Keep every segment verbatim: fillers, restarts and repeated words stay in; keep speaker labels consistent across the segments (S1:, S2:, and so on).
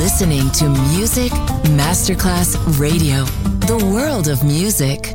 S1: listening to Music Masterclass Radio, the world of music.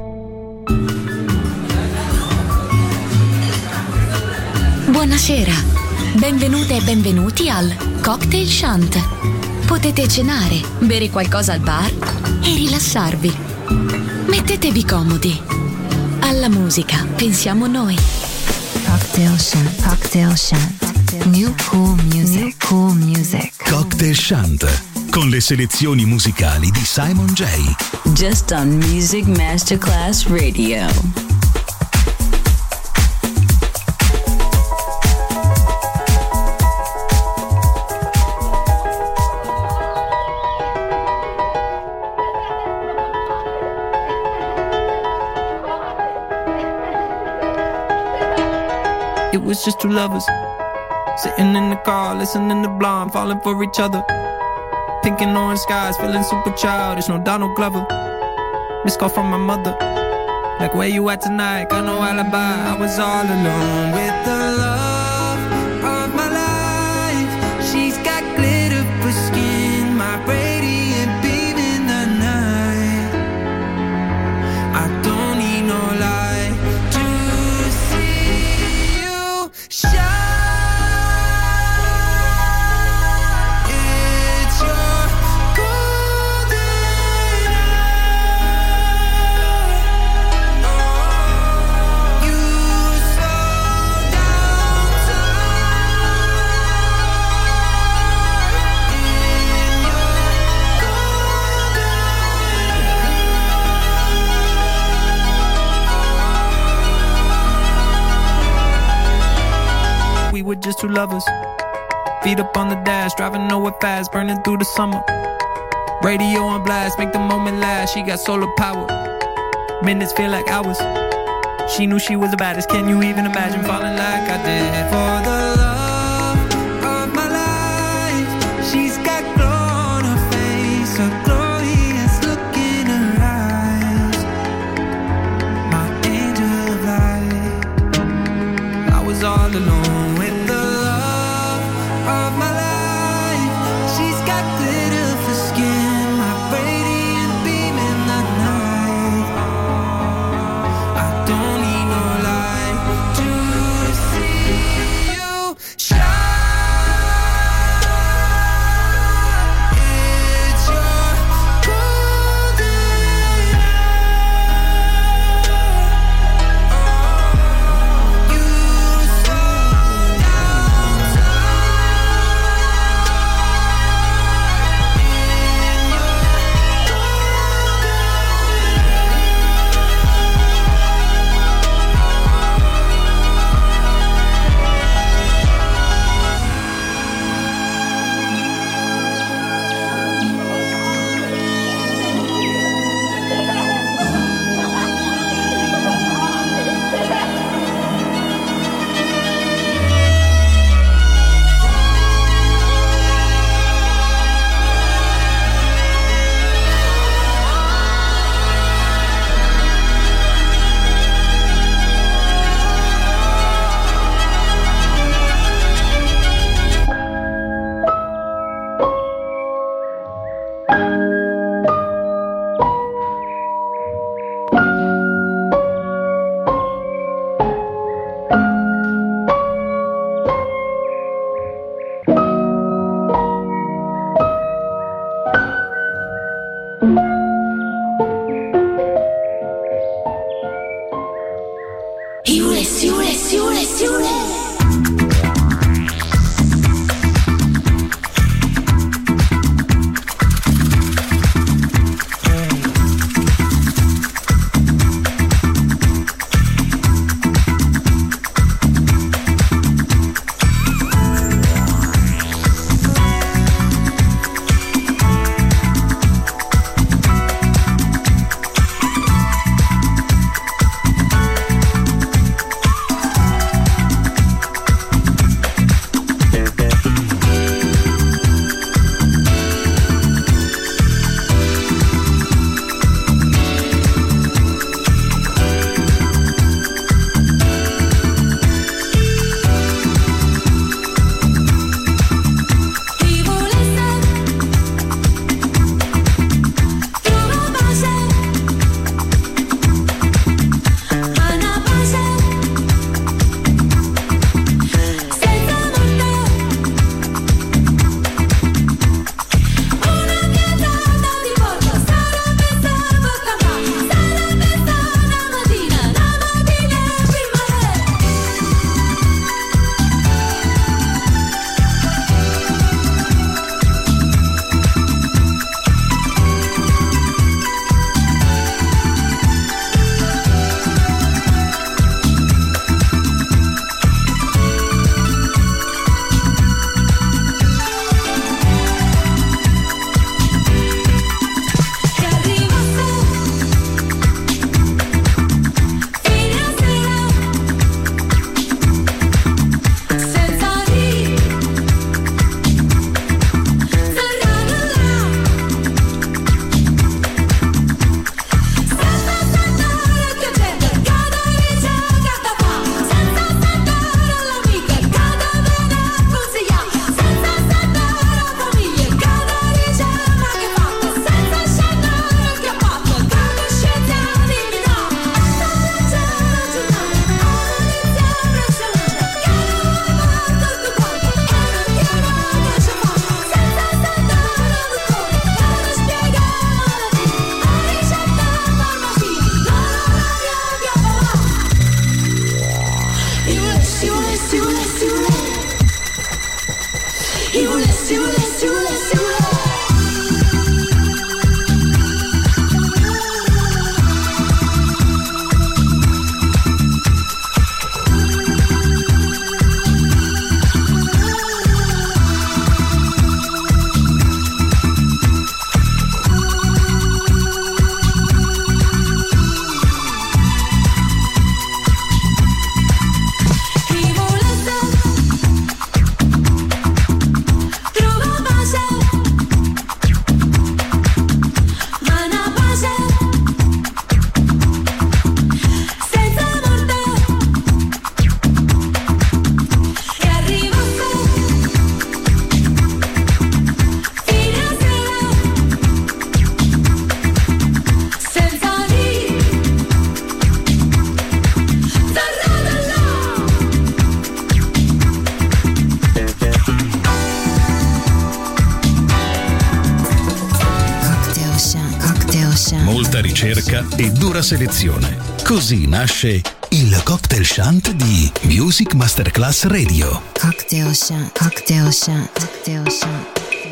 S2: Buonasera, benvenute e benvenuti al Cocktail Shant. Potete cenare, bere qualcosa al bar e rilassarvi. Mettetevi comodi. Alla musica pensiamo noi.
S3: Cocktail Shant, Cocktail Shant. New cool music, New cool music.
S4: Cocktail Shant, con le selezioni musicali di Simon J.
S5: Just on Music Masterclass Radio.
S6: It was just two lovers sitting in the car, listening to Blonde, falling for each other. Pink and orange skies, feeling super childish, no Donald Glover. Missed call from my mother, like where you at tonight, got no alibi. I was all alone with the love of my life. She's got glitter for skin, my radiant beam in the night. I don't need no light to see you shine. We're just two lovers, feet up on the dash, driving nowhere fast, burning through the summer. Radio on blast, make the moment last. She got solar power, minutes feel like hours. She knew she was the baddest. Can you even imagine falling like I did for the love of my life? She's got glow on her face, a glorious look in her eyes. My angel of light. I was all alone of my life. She's got glitter for skin, my radiant beam in the night. I don't need no light to see you shine. It's your golden hour. You slow down time.
S4: Molta ricerca e dura selezione. Così nasce il Cocktail Shant di Music Masterclass Radio.
S3: Cocktail Shant, Cocktail Shant, Cocktail Shant.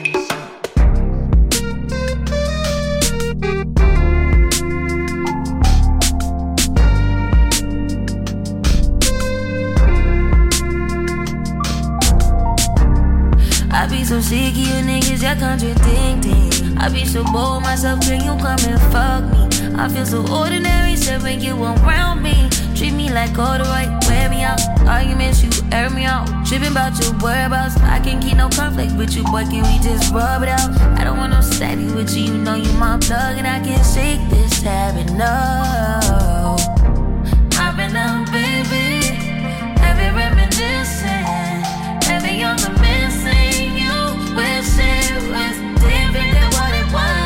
S7: I be so sick of you niggas, y'all contradicting. I be so bold myself, can you come and fuck me? I feel so ordinary, said when you around me. Treat me like all the right, wear me out. Arguments, you air me out. Tripping about your whereabouts. I can't keep no conflict with you, boy, can we just rub it out? I don't want no steady with you, you know you my plug. And I can't shake this habit, no. I've been down, baby. Heavy reminiscing. Heavy on the missing. You wish it was different than what it was.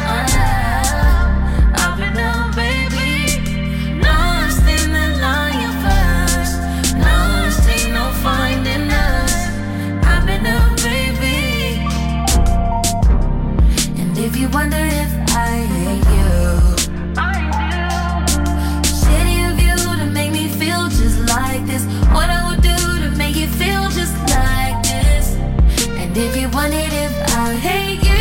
S7: I've been down, baby. Lost in the line first. Lost, ain't no finding us. I've been down, baby. And if you wonder if I hate you, I do. Shitty of you to make me feel just like this. What I would do to make you feel just like this. And if you wondered if I hate you,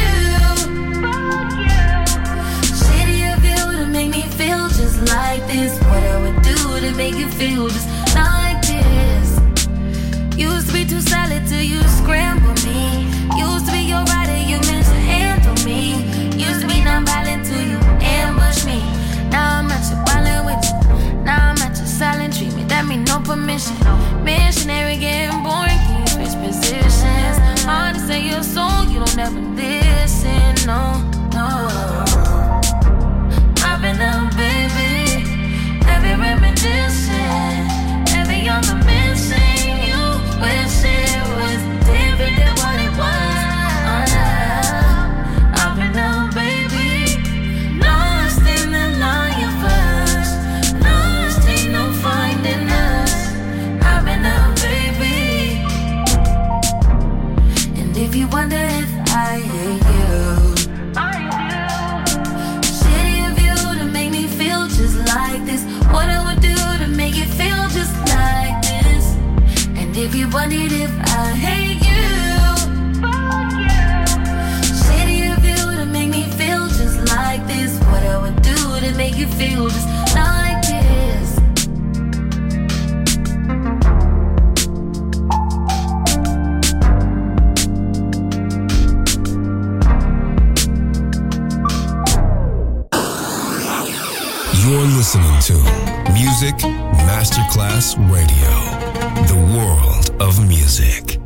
S7: shitty of you to make me feel just like this. What I would do to make you feel just like this. Used to be too solid till you scramble me. Used to be your rider, you mishandle me. Used to be non-violent till you ambush me. Now I'm at your violent with you. Now I'm at your silent treatment. That mean no permission. Missionary getting boring, can you switch positions? Hard to say your soul, you don't ever listen, no, no. I've been down, baby. Heavy reminiscing. Heavy on the missing. You wish it was different than what it was. I've been down, baby. Lost in the line first. Lost, ain't no finding us. I've been down, baby. And if you wonder if I hate you, I do. Shitty of you to make me feel just like this. What I would do to make you feel just like this. And if you wondered if I hate you, shitty of you to make me feel just like this. What I would do to make you feel just like this.
S8: You're listening to Music Masterclass Radio, the world of music.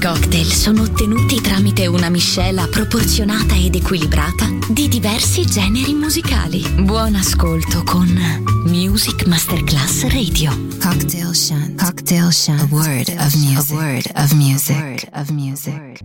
S2: cocktail sono ottenuti tramite una miscela proporzionata ed equilibrata di diversi generi musicali. Buon ascolto con Music Masterclass Radio.
S3: Cocktail Shant. Cocktail Shant. A word of music. A word of music. A word of music.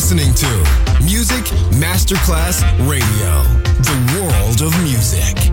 S8: listening to Music Masterclass Radio, the world of music.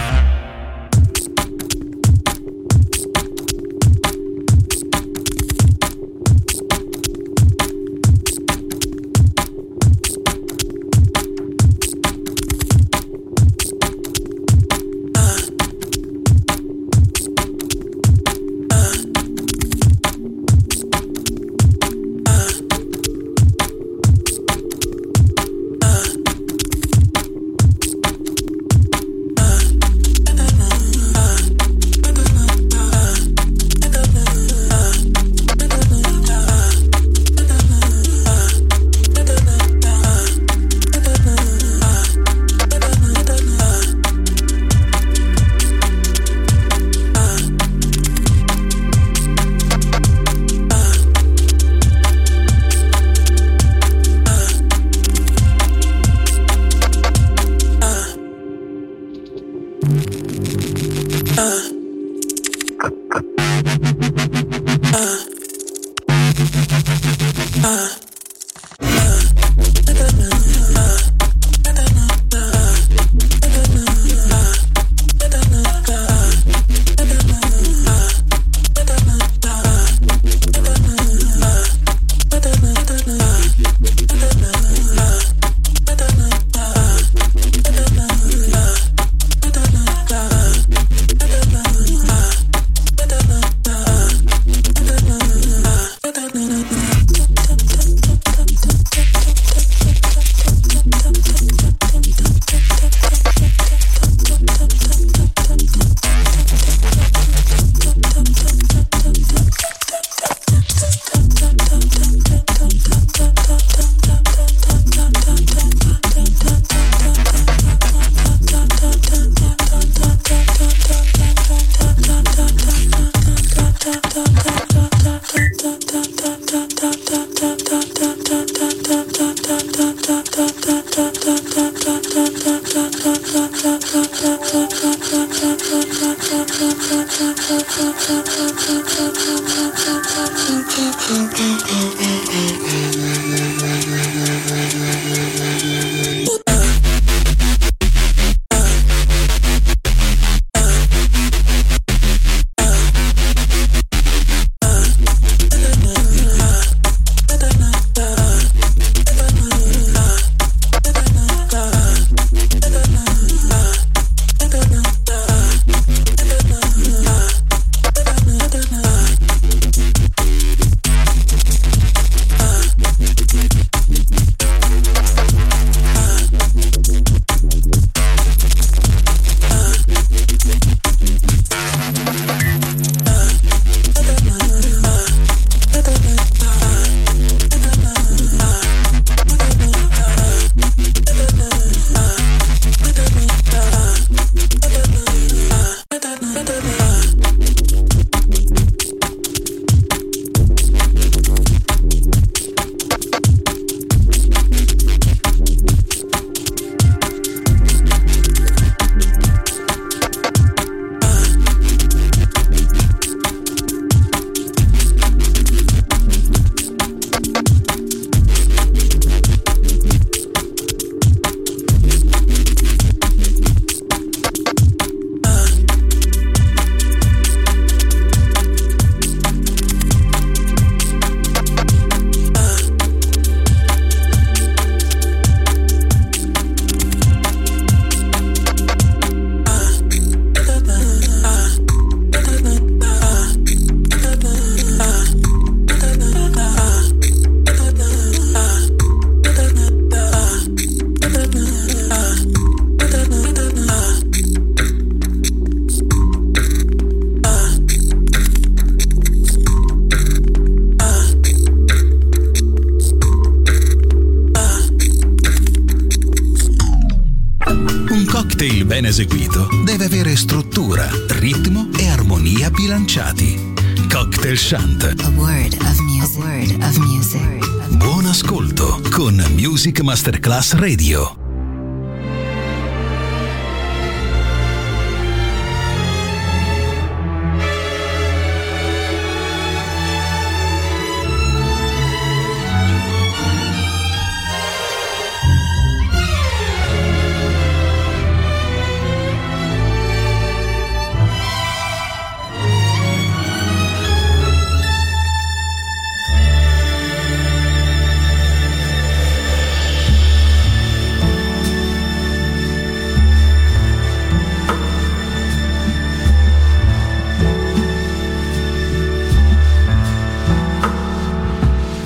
S4: ben eseguito deve avere struttura, ritmo e armonia bilanciati. Cocktail Shant.
S3: A word of music. A word of music.
S4: Buon ascolto con Music Masterclass Radio.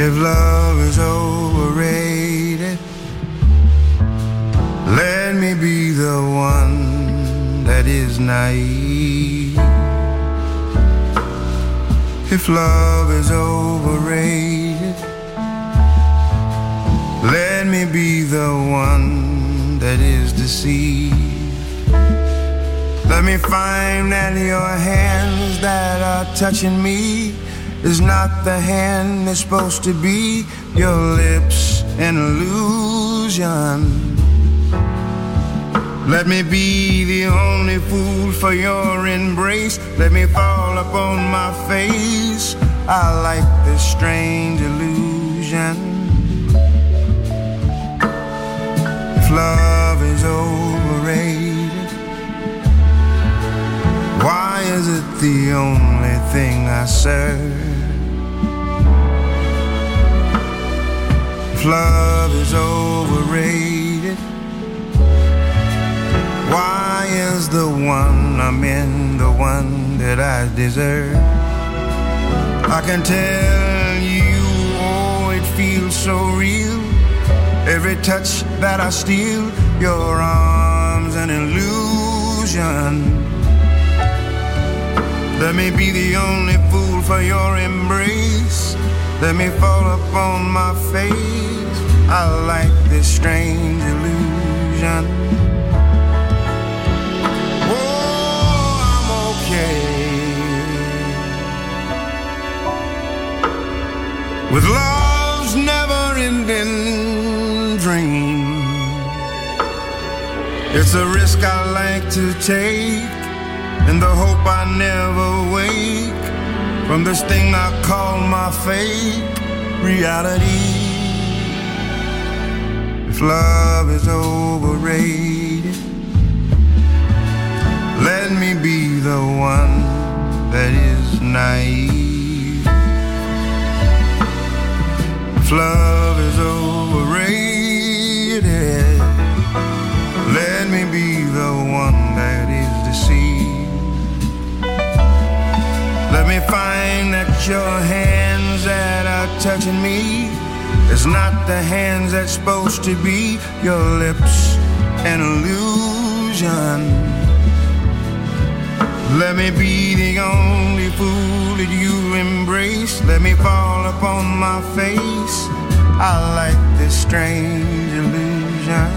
S9: If love is overrated, let me be the one that is naive. If love is overrated, let me be the one that is deceived. Let me find that your hands that are touching me is not the hand that's supposed to be. Your lips an illusion. Let me be the only fool for your embrace. Let me fall upon my face. I like this strange illusion. If love is overrated, why is it the only thing I serve? If love is overrated, why is the one I'm in the one that I deserve? I can tell you, oh, it feels so real. Every touch that I steal, your arms an illusion. Let me be the only fool for your embrace. Let me fall upon my face. I like this strange illusion. Oh, I'm okay with love's never-ending dream. It's a risk I like to take, in the hope I never wake from this thing I call my fate, reality. If love is overrated, let me be the one that is naive. If love is overrated, let me be the one that is deceived. Let me find that your hands that are touching me is not the hands that's supposed to be. Your lips an illusion. Let me be the only fool that you embrace. Let me fall upon my face. I like this strange illusion.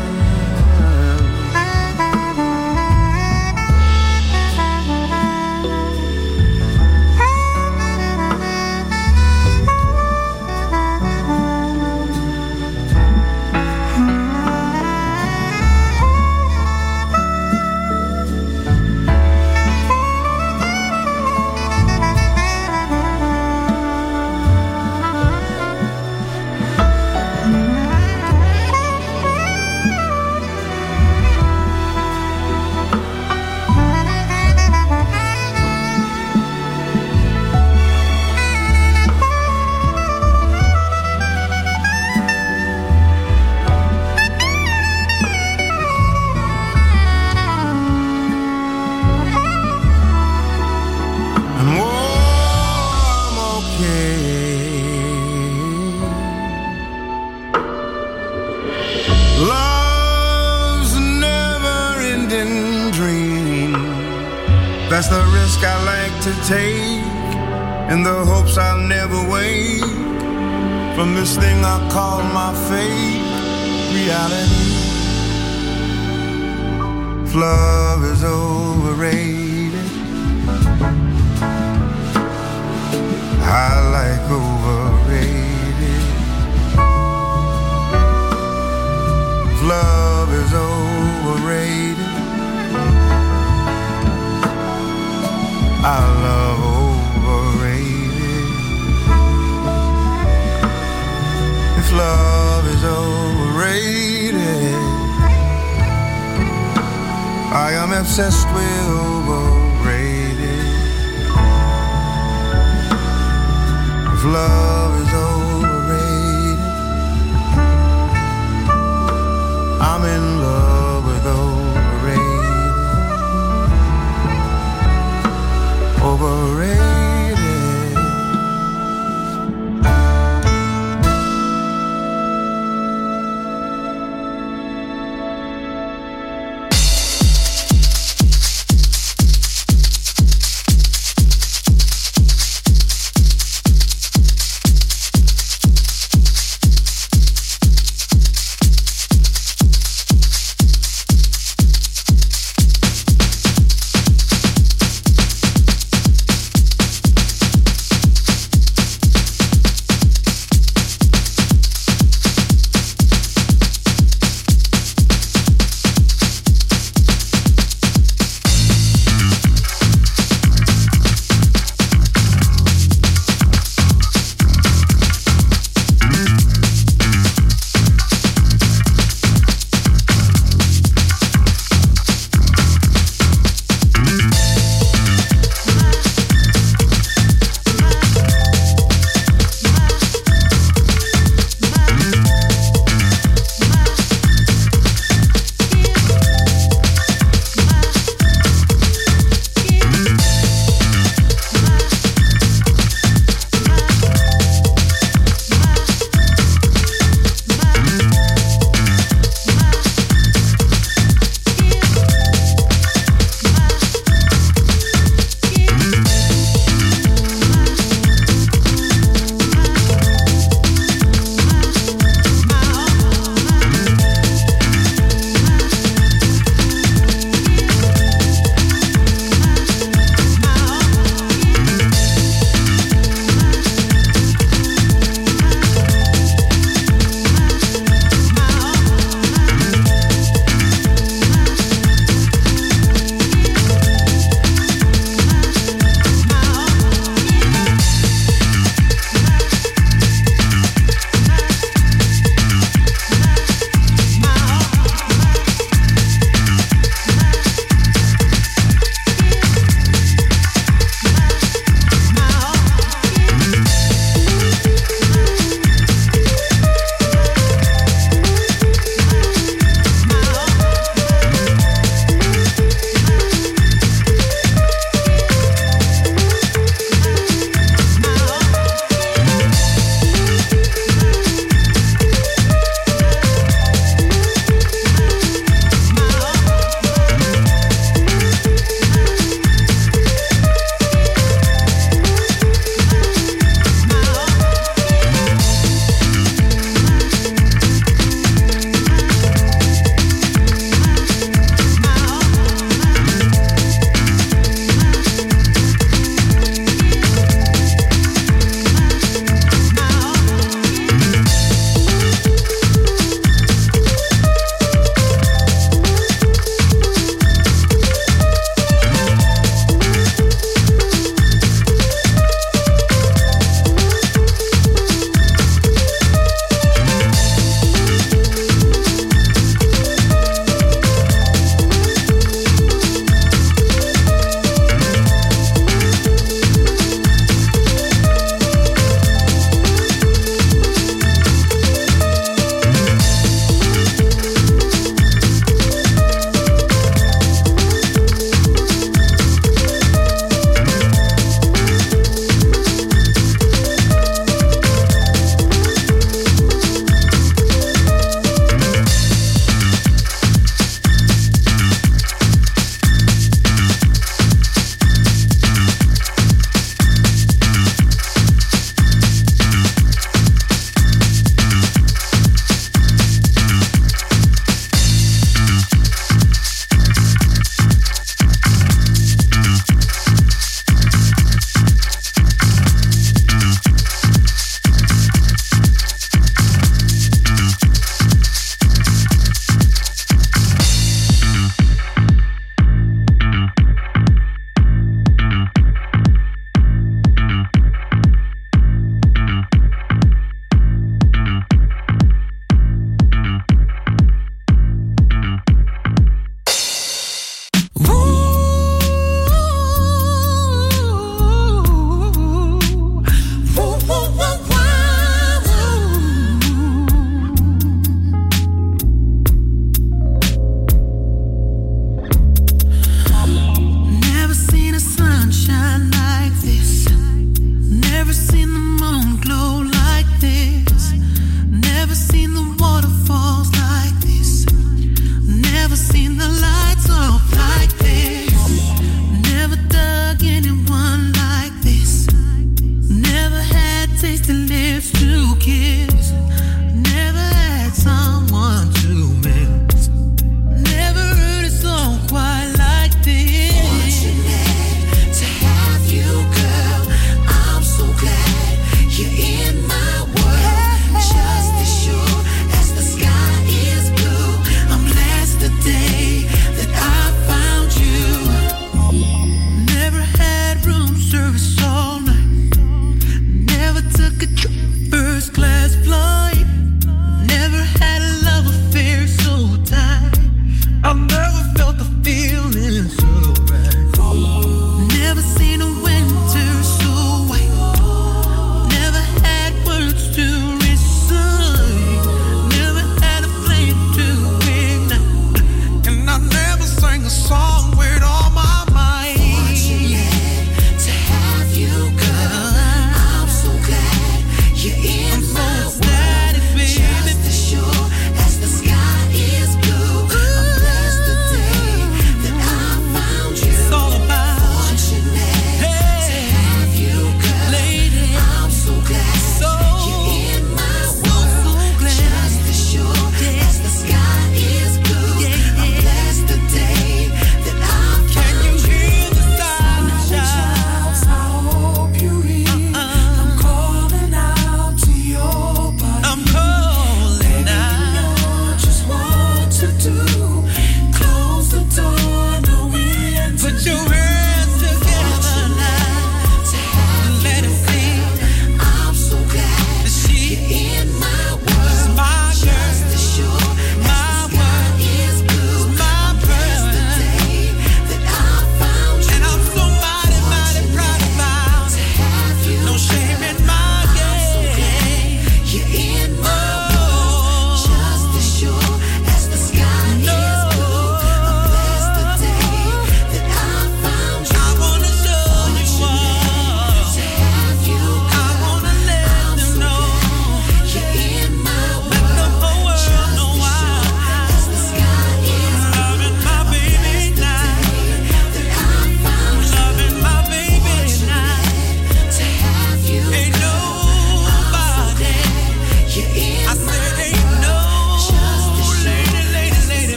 S9: That's the risk I like to take, in the hopes I'll never wake from this thing I call my fate, reality. If love is overrated, I like overrated. If love is overrated, I love overrated. If love is overrated, I am obsessed with overrated. If love is overrated, I'm in love with overrated. Overrated.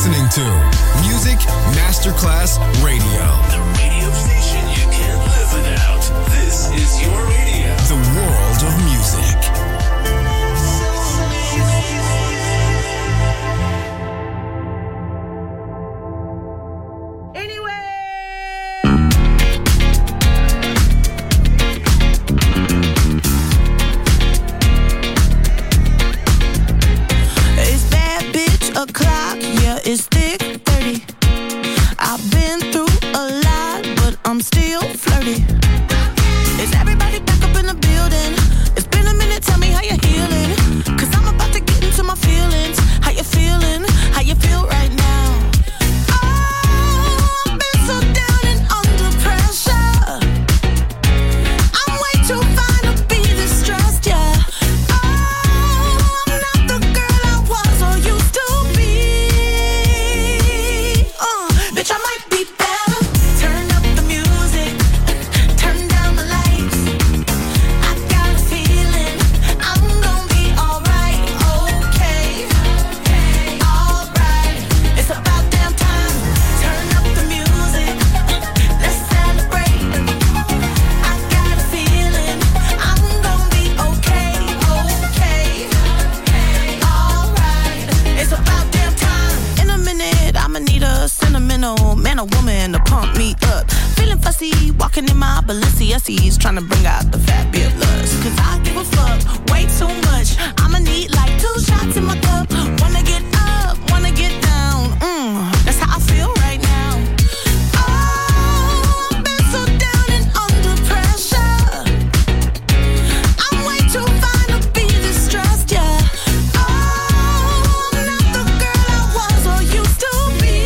S8: listening to Music Masterclass Radio.
S10: The radio station you can't live without. This is your radio.
S8: The world of music.
S11: O'clock, yeah, it's thick thirty. I've been through a lot, but I'm still flirty. Is everybody back up in the building? It's been a minute, tell me how you're healing. Cause I'm about to get into my feelings. How you feeling? How you feel right now? Oh, I've been so down and under pressure. I'm way too fine to be this stressed, yeah. Oh, I'm not the girl I was or used to. Bitch, I might be better. Turn up the music, turn down the lights. I got a feeling I'm gonna be alright, okay, alright. It's about damn time. Turn up the music, let's celebrate. I got a feeling I'm gonna be okay, okay, alright. It's about damn time. In a minute, I'ma need a sentimental man or woman to pump me up. Feeling fussy, walking in my Balenciennes, trying to bring out the fabulous. Cause I give a fuck way too much. I'ma need like two shots in my cup. Wanna get up, wanna get down. Mm, that's how I feel right now. Oh, I've been so down and under pressure. I'm way too fine to be this stressed, yeah. Oh, I'm not the girl I was or used to be.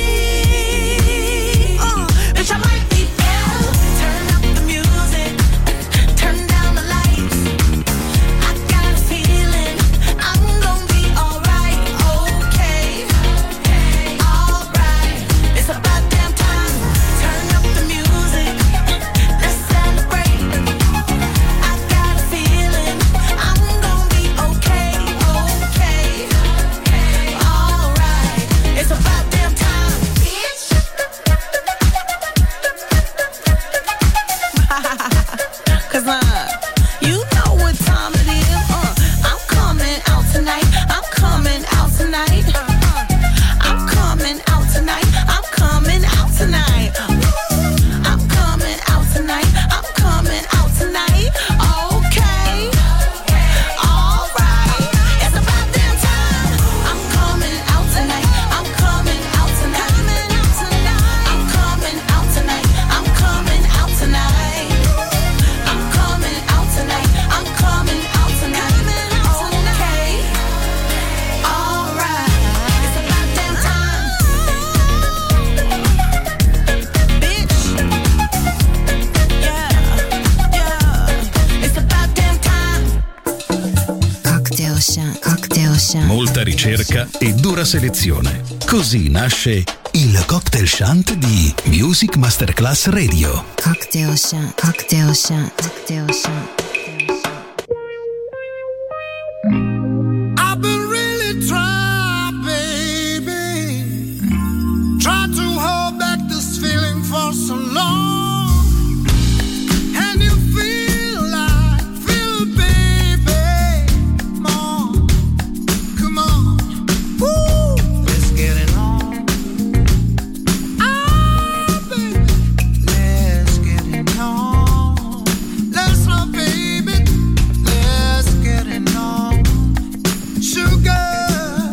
S11: Uh, bitch, I might be better. Turn up the music, turn down the lights. I got a feeling I'm gonna be alright, okay, alright. It's about damn time. Turn up the music, let's celebrate. I got a feeling I'm gonna be okay, okay, alright. It's about damn time, bitch. Cause uh, you know what time it is. Uh, I'm coming out tonight. I'm coming out tonight. Uh, I'm coming out tonight. I'm coming out tonight. I'm coming out tonight. I'm coming out tonight. Okay, alright. It's about damn time. I'm coming out tonight. I'm coming out tonight. I'm coming out tonight. I'm coming out tonight. I'm coming out tonight. I'm coming out tonight. Okay, alright. It's about damn time, bitch. Yeah, yeah. It's about damn time.
S3: Cocktail shant, cocktail shant.
S4: Molta ricerca e dura selezione. Così nasce il Cocktail Shant di Music Masterclass Radio.
S3: Cocktail shant, cocktail shant, cocktail shant.
S9: I've been really trying, baby. Tried to hold back this feeling for so long. And you feel like, feel it, baby. Come on, come on. Woo! Let's get it on. Ah, baby. Let's get it on. Let's love, baby. Let's get it on. Sugar.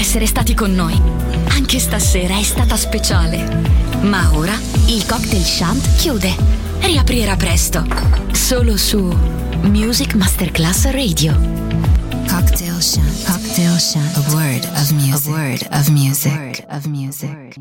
S2: essere stati con noi. Anche stasera è stata speciale. Ma ora il Cocktail Shant chiude. Riaprirà presto. Solo su Music Masterclass Radio.
S3: Cocktail Shant. Cocktail Shant. A word of music. A word of music. A word of music.